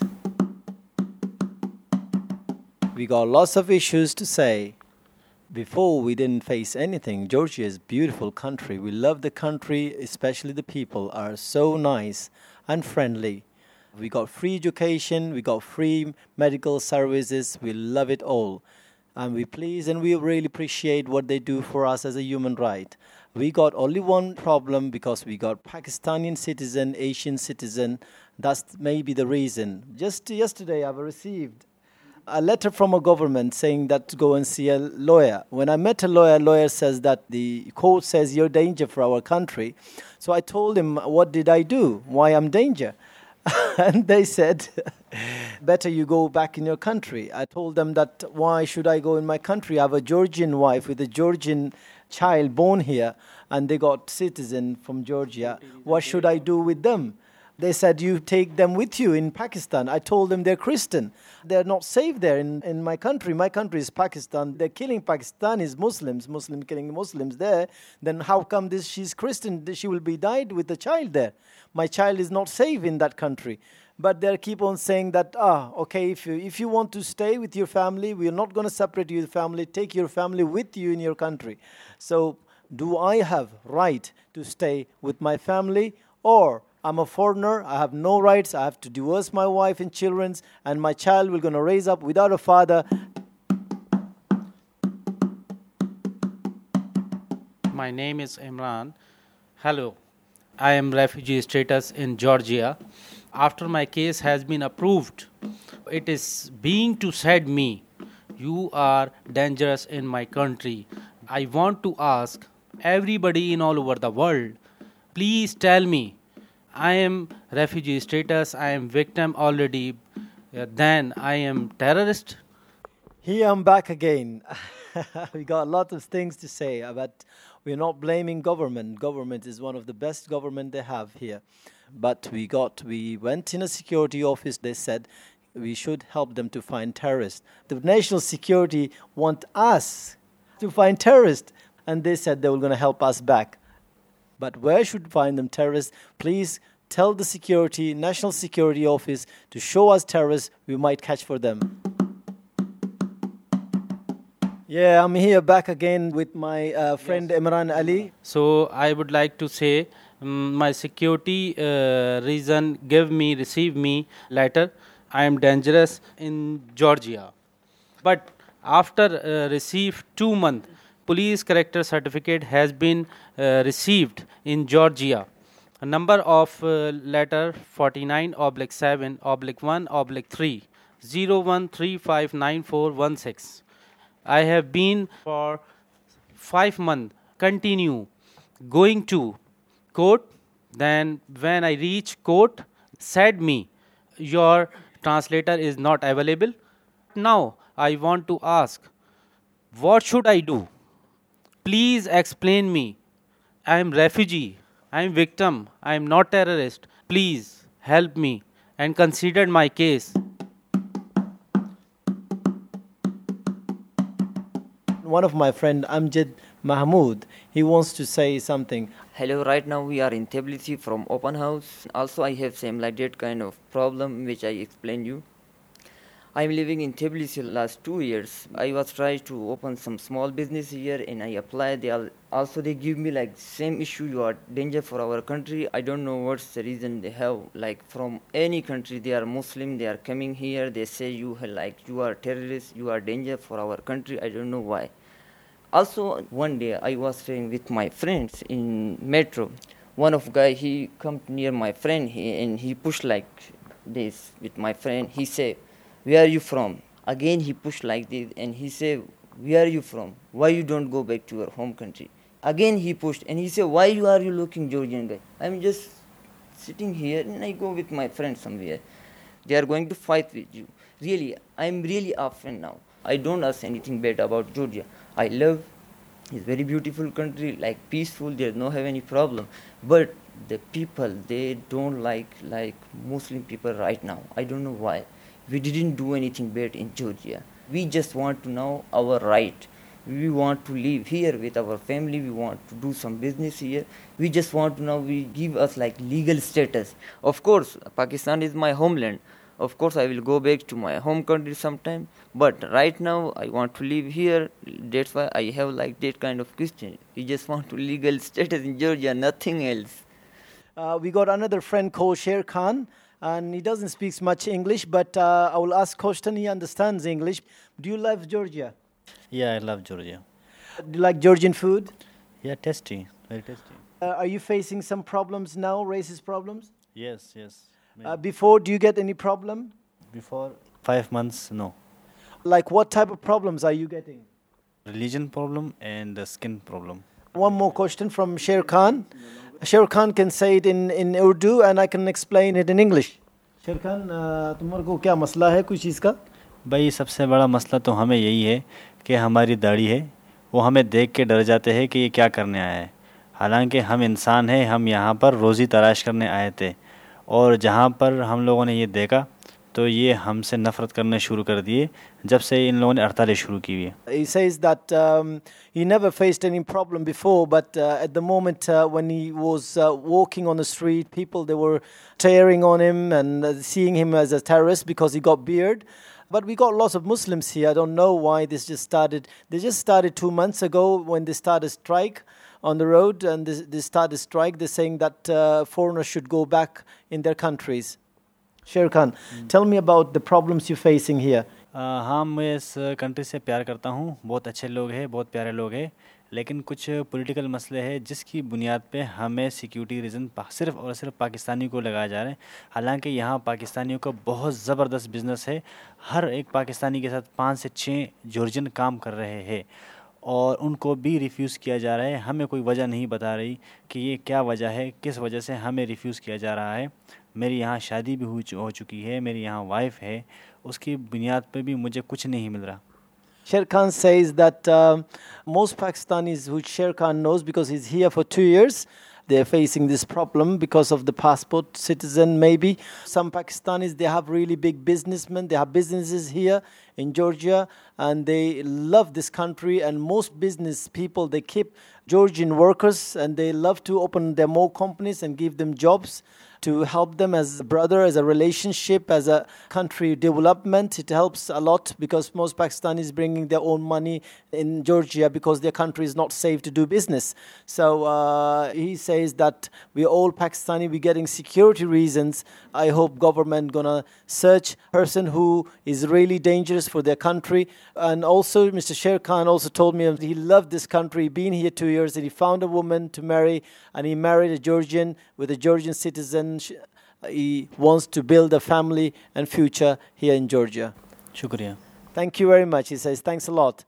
We got lots of issues to say. Before we didn't face anything. Georgia is a beautiful country. We love the country, especially the people are so nice and friendly. We got free education, we got free medical services, we love it all. And we please and we really appreciate what they do for us as a human right. We got only one problem because we got Pakistani citizen, Asian citizen. That's maybe the reason. Just yesterday I've received a letter from a government saying that to go and see a lawyer. When I met a lawyer, lawyer says that the court says you're danger for our country. So I told him, what did I do? Why I'm danger? And they said, better you go back in your country. I told them that why should I go in my country? I have a Georgian wife with a Georgian child born here and they got citizen from Georgia. What should I do with them? They said, you take them with you in Pakistan. I told them they're Christian. They're not safe there in, in my country. My country is Pakistan. They're killing Pakistanis, Muslims, Muslims killing Muslims there. Then how come this? She's Christian. She will be died with the child there. My child is not safe in that country. But they keep on saying that, ah, okay, if you, if you want to stay with your family, we are not going to separate your family. Take your family with you in your country. So do I have right to stay with my family, or I'm a foreigner, I have no rights, I have to divorce my wife and children, and my child will going to raise up without a father. My name is Imran. Hello. I am refugee status in Georgia. After my case has been approved, it is being to said me, you are dangerous in my country. I want to ask everybody in all over the world, please tell me, I am refugee status, I am victim already, uh, then I am terrorist. Here I'm back again. We got a lot of things to say, but we're not blaming government. Government is one of the best government they have here. But we got, we went in a security office, they said we should help them to find terrorists. The national security want us to find terrorists, and they said they were going to help us back. But where should we find them terrorists? Please tell the security, national security office to show us terrorists we might catch for them. Yeah, I'm here back again with my uh, friend yes. Imran Ali. So I would like to say, um, my security uh, reason give me, receive me letter. I am dangerous in Georgia. But after uh, receive two months, police character certificate has been uh, received in Georgia. A number of uh, letter forty-nine oblique seven oblique one oblique three zero one three five nine four one six. I have been for five months continue going to court. Then when I reach court, said me, your translator is not available. Now I want to ask, what should I do? Please explain me. I am refugee. I am victim. I am not terrorist. Please help me and consider my case. One of my friend Amjad Mahmood, he wants to say something. Hello, right now we are in Tbilisi from open house. Also I have same like that kind of problem which I explained you. I am living in Tbilisi last two years. I was trying to open some small business here and I applied. They are, also they give me like same issue, you are danger for our country. I don't know what's the reason they have. Like from any country, they are Muslim, they are coming here. They say you like you are terrorist, you are danger for our country. I don't know why. Also one day I was staying with my friends in metro. One of guy, he come near my friend he, and he pushed like this with my friend. He said, where are you from? Again he pushed like this and he said, where are you from? Why you don't go back to your home country? Again he pushed and he said, why you are you looking Georgian guy? I'm just sitting here and I go with my friend somewhere. They are going to fight with you. Really, I'm really offended now. I don't ask anything bad about Georgia. I love, it's very beautiful country, like peaceful, there's no have any problem. But the people, they don't like like Muslim people right now. I don't know why. We didn't do anything bad in Georgia. We just want to know our right. We want to live here with our family. We want to do some business here. We just want to know, we give us like legal status. Of course, Pakistan is my homeland. Of course, I will go back to my home country sometime. But right now, I want to live here. That's why I have like that kind of question. We just want to legal status in Georgia, nothing else. Uh, we got another friend called Sher Khan. And he doesn't speak much English, but uh, I will ask Kostan, he understands English. Do you love Georgia? Yeah, I love Georgia. Do you like Georgian food? Yeah, tasty, very tasty. Uh, are you facing some problems now, racist problems? Yes, yes. Uh, before, do you get any problem? Before five months, no. Like what type of problems are you getting? Religion problem and the skin problem. One more question from Sher Khan. Sher Khan can say it in, in Urdu and I can explain it in English. Sher Khan, तुम्हारे को क्या मसला है कुछ चीज़ का? भाई सबसे बड़ा मसला तो हमें यही है कि हमारी दाढ़ी है वो हमें देख के डर जाते हैं कि ये क्या करने आया है. हालांकि हम इंसान हैं, हम यहाँ पर रोज़ी तलाश करने आए थे और जहाँ पर हम लोगों ने ये देखा तो ये हमसे नफ़रत करना शुरू कर दिए जब से इन लोगों ने हड़तालें शुरू की हुई है. He says that um, he never faced any problem before, but uh, at the moment uh, when he was uh, walking on the street, people, they were tearing on him and uh, seeing him as a terrorist because he got beard. But we got lots of Muslims here. I don't know why this just started. They just started two months ago when they started strike on the road, and they, they started strike. They're saying that uh, foreigners should go back in their countries. Sher Khan, mm. tell me about the problems you're facing here. हाँ, मैं इस कंट्री से प्यार करता हूँ. बहुत अच्छे लोग हैं, बहुत प्यारे लोग हैं, लेकिन कुछ पॉलिटिकल मसले हैं जिसकी बुनियाद पे हमें सिक्योरिटी रीज़न सिर्फ और सिर्फ पाकिस्तानी को लगाया जा रहा है. हालांकि यहाँ पाकिस्तानियों का बहुत ज़बरदस्त बिज़नेस है. हर एक पाकिस्तानी के साथ पाँच से छः जॉर्जियन काम कर रहे हैं और उनको भी रिफ्यूज़ किया जा रहा है. हमें कोई वजह नहीं बता रही कि ये क्या वजह है, किस वजह से हमें रिफ्यूज़ किया जा रहा है. मेरी यहाँ शादी भी हो, हो चुकी है, मेरी यहाँ वाइफ है, उसकी बुनियाद पे भी मुझे कुछ नहीं मिल रहा. Sher Khan says that uh, most Pakistanis, who Sher Khan knows because he's here for two years, they're facing this problem because of the passport citizen maybe. Some Pakistanis, they have really big businessmen, they have businesses here in Georgia and they love this country, and most business people, they keep Georgian workers and they love to open their more companies and give them jobs to help them as a brother, as a relationship, as a country development. It helps a lot because most Pakistanis bringing their own money in Georgia because their country is not safe to do business. So uh, he says that we all Pakistani, we're getting security reasons. I hope government gonna search person who is really dangerous for their country. And also Mister Sher Khan also told me he loved this country, been here two years, and he found a woman to marry, and he married a Georgian with a Georgian citizen. He wants to build a family and future here in Georgia. Shukriya. Thank you very much. He says, thanks a lot.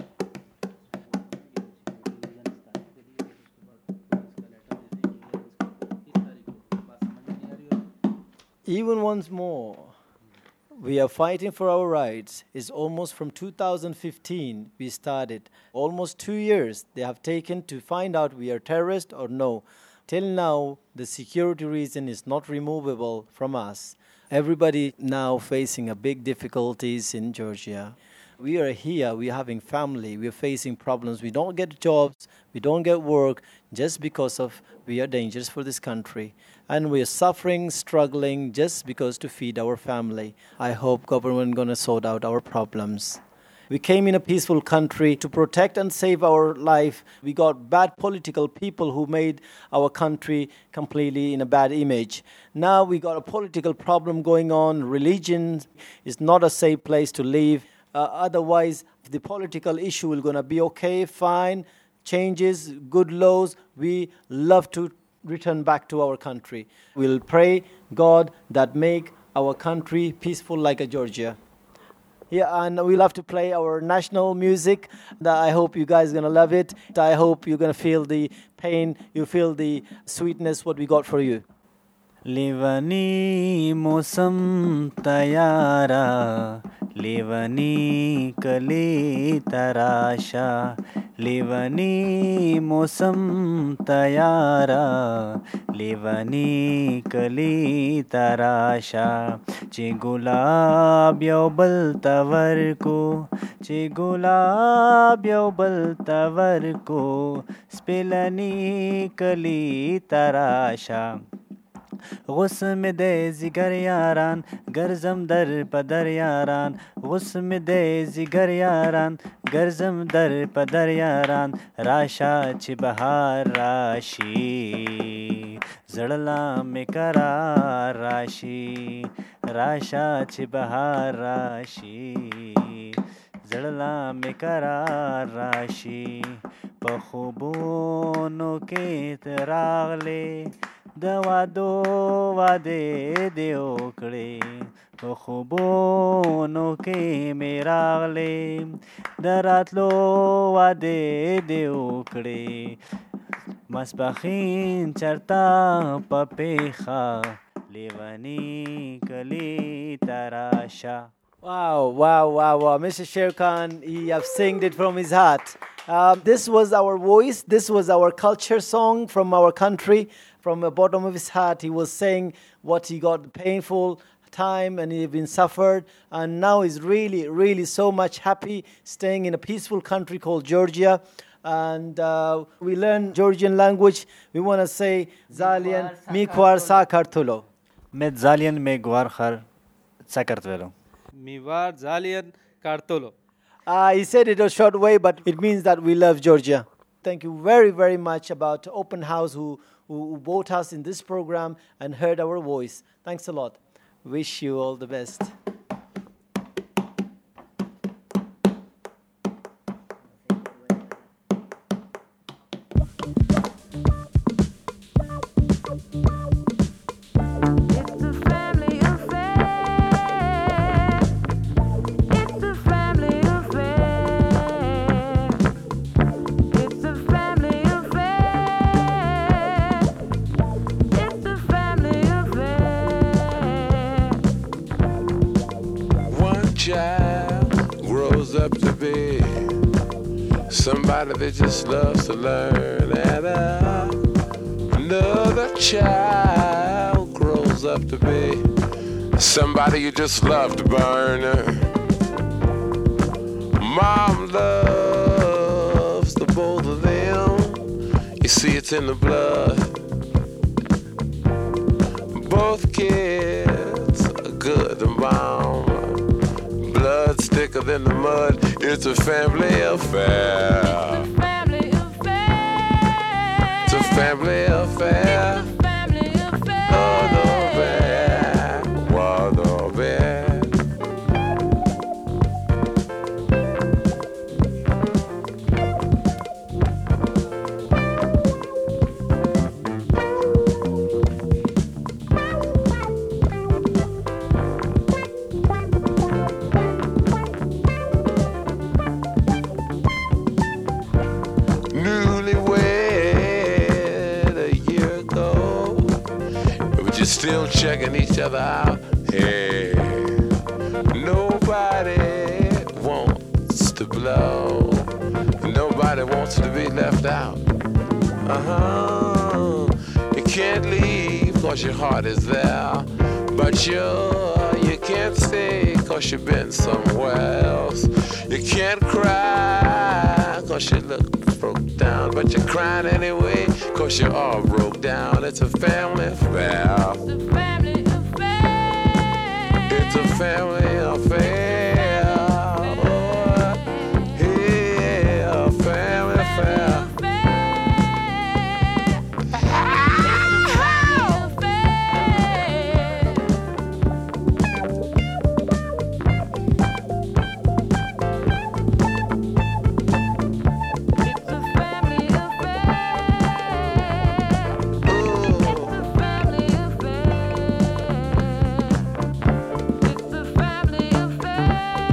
Even once more, we are fighting for our rights. It's almost from two thousand fifteen we started. Almost two years they have taken to find out we are terrorists or no. Till now, the security reason is not removable from us. Everybody now facing a big difficulties in Georgia. We are here, we are having family, we are facing problems. We don't get jobs, we don't get work, just because of we are dangerous for this country. And we are suffering, struggling, just because to feed our family. I hope government gonna sort out our problems. We came in a peaceful country to protect and save our life. We got bad political people who made our country completely in a bad image. Now we got a political problem going on. Religion is not a safe place to live. Uh, otherwise, the political issue is going to be okay, fine, changes, good laws. We love to return back to our country. We'll pray God that make our country peaceful like a Georgia. Yeah, and we'll have to play our national music. I hope you guys are going to love it. I hope you're going to feel the pain, you feel the sweetness, what we got for you. लेवनी मौसम तयारा लेवनी कली तराशा लेवनी मौसम तयारा लेवनी कली तराशा चे गुलाब यौबल तवर को चे गुलाब यौबल तवर को स्पेलनी कली तराशा गुस्म दे जिगर यारान गर्जम दर पदर यारान गुस्म दे जिगर यारान गर्जम दर पदर यारान राशा छि बहार राशी जड़ला में करार राशी राशा छि बहार राशी जड़ला में करार राशी पखुबोनो के तरागले दवा दो वादे देओकड़े पखुबोनो के मेरागले दरातलो वादे देओकड़े मस्बखीन चरता पपेखा लेवनी कली तराशा. Wow, wow, wow, wow. Mister Sher Khan, he have sung it from his heart. Um, this was our voice. This was our culture song from our country. From the bottom of his heart, he was saying what he got painful time and he'd been suffered. And now he's really, really so much happy staying in a peaceful country called Georgia. And uh, we learn Georgian language. We want to say Zalian Mikwar Sakartulo. Med Zalian me Guarkhar Sakartvelo. Miwar Zalian Kartolo. Uh, he said it a short way, but it means that we love Georgia. Thank you very, very much about Open House who, who brought us in this program and heard our voice. Thanks a lot. Wish you all the best. Somebody that just loves to learn, and uh, another child grows up to be somebody you just love to burn. Mom loves the both of them. You see, it's in the blood. Both kids are good and bomb. Blood's thicker than the mud. It's a family affair. It's a family affair. It's a family affair. It's a family affair. Oh, no bad. Wow, no bad. Still checking each other out. Hey, nobody wants to blow. Nobody wants to be left out. Uh-huh. You can't leave cause your heart is there. But you, you can't stay cause you've been somewhere else. You can't cry cause you look broke down. But you're crying anyway cause you're all broke down. It's a family affair. It's a family affair. It's a family affair. Oh, yeah, a family affair. Family affair.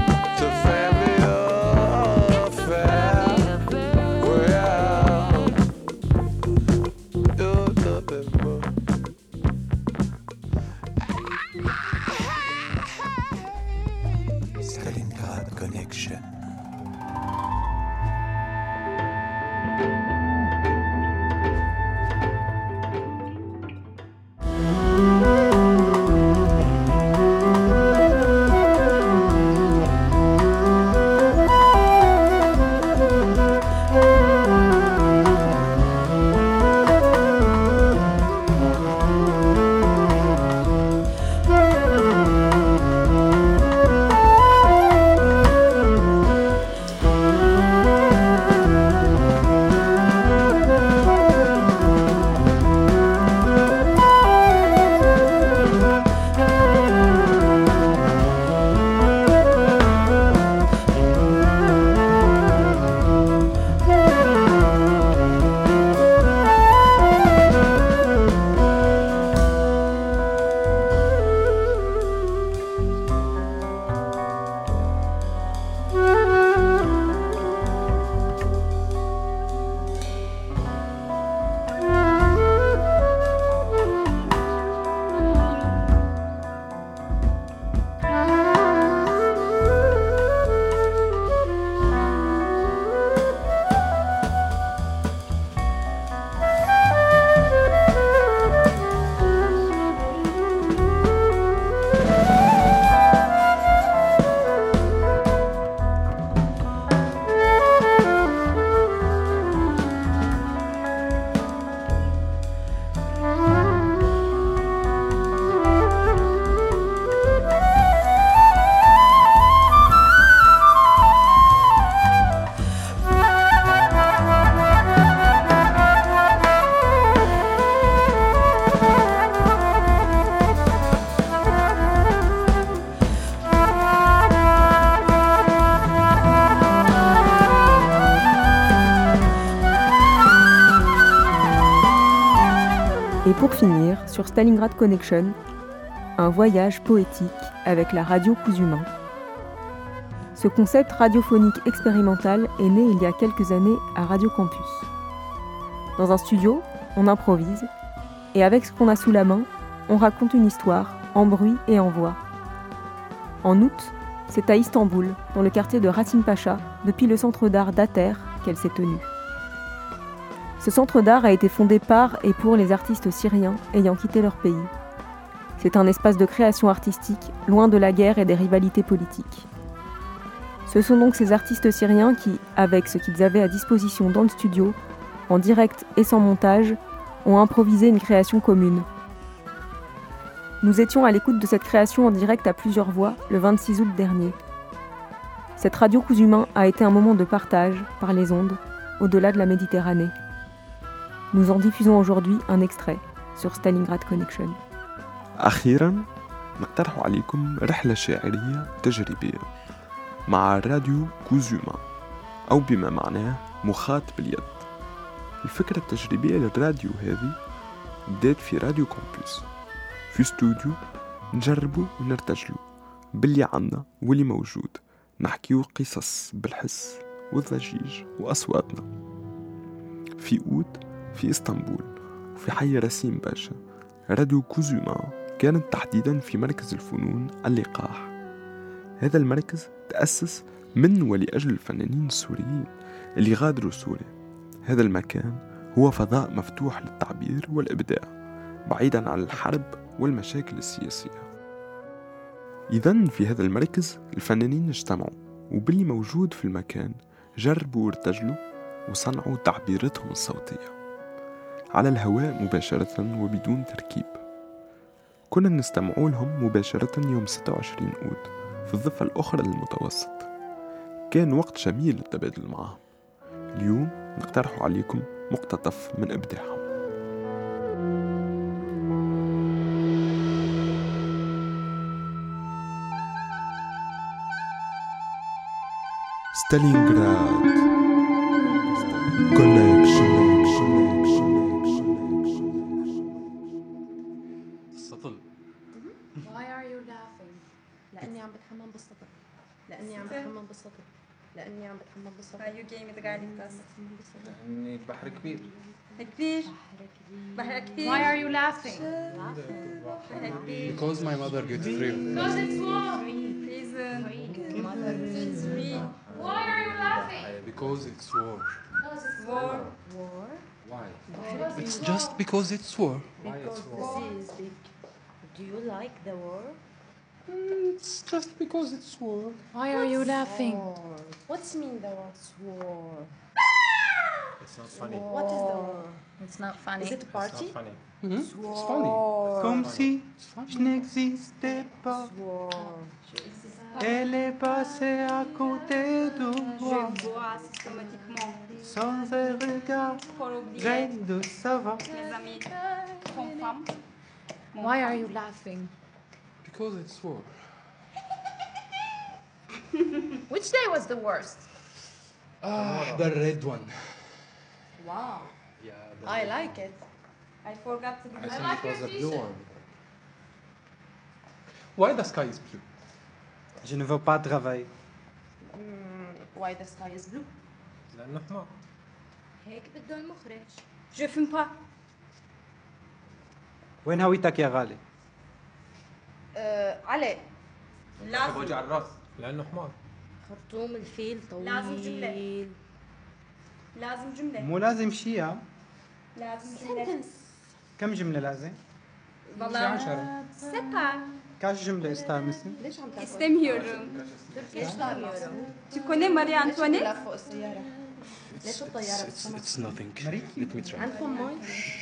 pour finir, sur Stalingrad Connection, un voyage poétique avec la radio Cousumain. Ce concept radiophonique expérimental est né il y a quelques années à Radio Campus. Dans un studio, on improvise, et avec ce qu'on a sous la main, on raconte une histoire, en bruit et en voix. En août, c'est à Istanbul, dans le quartier de Rasim Pacha, depuis le centre d'art d'Ater, qu'elle s'est tenue. Ce centre d'art a été fondé par et pour les artistes syriens ayant quitté leur pays. C'est un espace de création artistique, loin de la guerre et des rivalités politiques. Ce sont donc ces artistes syriens qui, avec ce qu'ils avaient à disposition dans le studio, en direct et sans montage, ont improvisé une création commune. Nous étions à l'écoute de cette création en direct à plusieurs voix le vingt-six août dernier. Cette radio Cousumain a été un moment de partage, par les ondes, au-delà de la Méditerranée. Nous en diffusons aujourd'hui un extrait sur Stalingrad Connection. أخيراً نقترح عليكم رحلة شاعرية تجريبية مع راديو كوزوما أو بما معناه مخاط باليد. الفكرة التجريبية للراديو هذه بدأت في راديو كامبوس في استوديو نجربوا ونرتجلوا باللي عنا واللي موجود، نحكيو قصص بالحس والضجيج وأصواتنا. في أوت في إسطنبول وفي حي رسيم باشا راديو كوزوما كانت تحديدا في مركز الفنون اللقاح. هذا المركز تأسس من ولأجل الفنانين السوريين اللي غادروا سوريا. هذا المكان هو فضاء مفتوح للتعبير والإبداع بعيدا عن الحرب والمشاكل السياسية. إذن في هذا المركز الفنانين اجتمعوا وباللي موجود في المكان جربوا وارتجلوا وصنعوا تعبيراتهم الصوتية على الهواء مباشرة وبدون تركيب. كنا نستمعوا لهم مباشرة يوم ستة وعشرين أوت في الضفة الأخرى للمتوسط. كان وقت جميل للتبادل معهم. اليوم نقترح عليكم مقتطف من إبداعهم. ستالينغراد كونكشن. السطل. Why are you laughing؟ لأني عم بتحمم بالسطل. لأني عم بتحمم بالسطل. لأني عم بتحمم بالسطل. أيو جيم تقعد تقص. لأني البحر كبير. كبير. بحر كبير. Why are you laughing؟ Because my mother gets free. Because it's warm. Reason. It's free. Why are you laughing? Because it's war. Because it's war. War? Why? It's just because it's war. Because the sea is big. Do you like the war? It's just because it's war. Why are you laughing? What's mean the word war? It's not funny. What is the war? It's not funny. Is it a party? It's not funny. Mm-hmm. It's funny. Comme si je n'existais pas. Elle est passée à côté de moi. Je bois systématiquement. Sans un regard, grain de savon. Mes amis, comprennent. Why are you laughing? Because it's war. Which day was the worst? Ah, the red one. Wow. Yeah, the I red like it. I forgot to give I I think like it was your a blue t-shirt. one. Why the sky is blue? Je ne veux pas travailler. Mm, why the sky is blue? لأنه حمار. هيك بده المخرج. Je fume pas. وين هويتك يا غالي؟ أه علي. لازم. وجع الراس. لأنه حمار. خرطوم الفيل طويل. لازم جملة. لازم جملة. مو لازم شيء يا. لازم جملة. كم جملة لازم؟ والله عشرة. ستة. كاش جملة استانسي؟ ليش عم تاكل؟ استميورم. ليش استميورم؟ Tu connais Marie Antoinette؟ لا فوق السيارة. ليش الطيارة بتسمع؟ It's nothing. Let me try. عندكم مي؟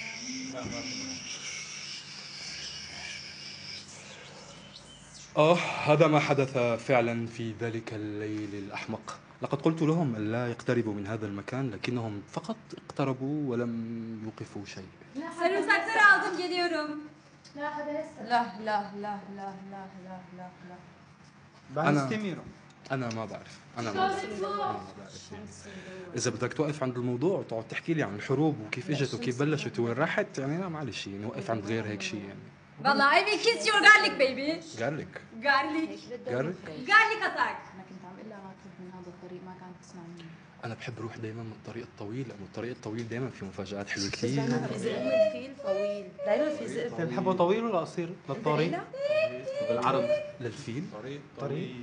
آه هذا ما حدث فعلا في ذلك الليل الأحمق. لقد قلت لهم ألا يقتربوا من هذا المكان لكنهم فقط اقتربوا ولم يوقفوا شيء. Sarımsakları aldım geliyorum. لا لا لا لا لا لا لا لا. أنا استميرو. انا ما بعرف انا ما بعرف, أنا ما بعرف. يعني اذا بدك توقف عند الموضوع وتقعد تحكي لي عن الحروب وكيف اجت وكيف بلشت وين راحت يعني لا معلش نوقف عند غير هيك شيء يعني. والله I will kiss your garlic baby. garlic garlic garlic garlic attack. انا كنت عم اقول لها ما تروح من هذا الطريق ما كانت تسمع مني. انا بحب اروح دائما من الطريق الطويل لانه الطريق الطويل دائما فيه مفاجآت حلوه كثير. دائما في ذئب الفيل طويل دائما في ذئب. بتحبه طويل ولا قصير للطريق؟ بالعرض للفيل طريق طريق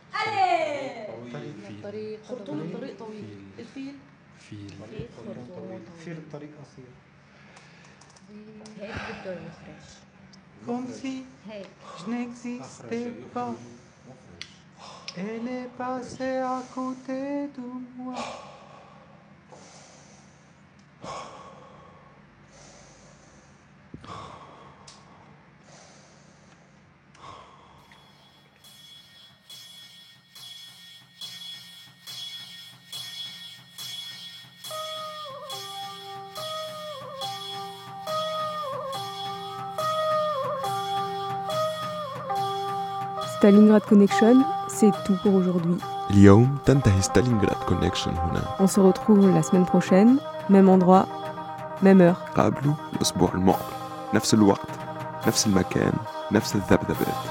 طريق طريق خرطوم الطريق طويل الفيل فيل فيل الطريق قصير. هيك بده المخرج. Comme si je n'existais pas. Elle est passée à côté de moi. Stalingrad Connection, c'est tout pour aujourd'hui. اليوم تنتهي ستالينغراد كونكشن هنا. On se retrouve la semaine prochaine, même endroit, même heure. قابلوا الأسبوع المقبل نفس الوقت نفس المكان نفس الذبذبات.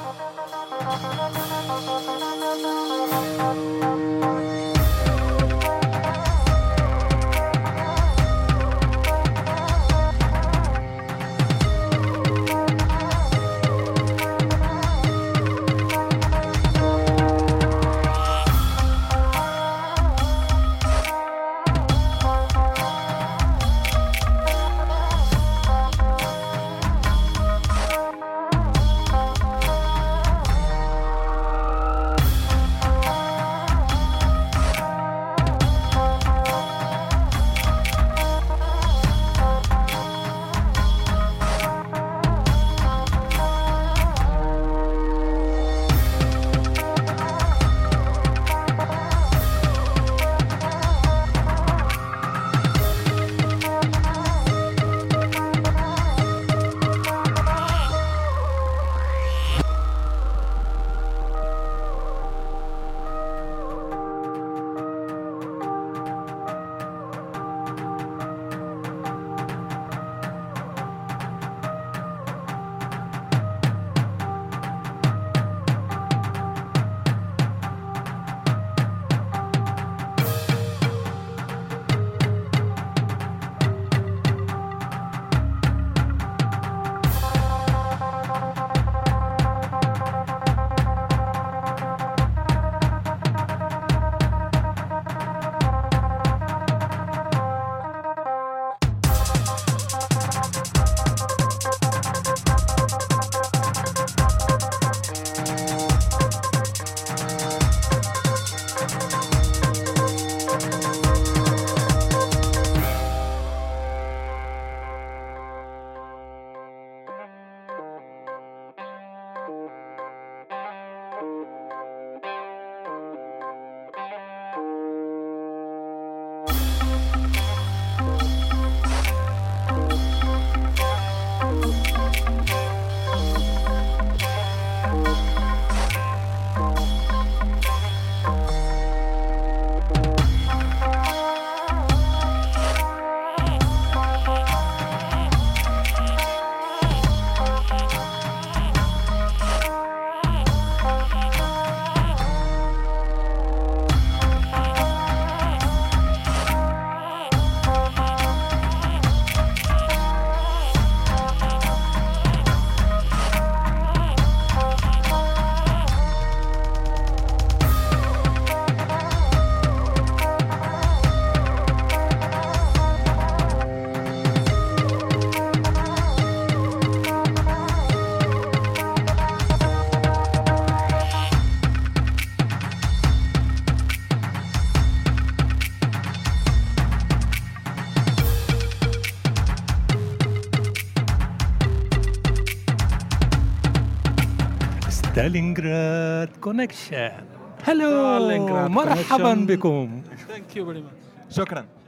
ستالينغراد كونكشن. هلو مرحبا بكم. Thank you very much. شكرا.